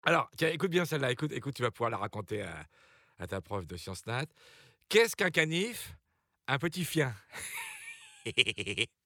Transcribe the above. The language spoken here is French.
Alors, tiens, écoute bien celle-là, écoute, tu vas pouvoir la raconter à ta prof de sciences nat. Qu'est-ce qu'un canif? Un petit fien.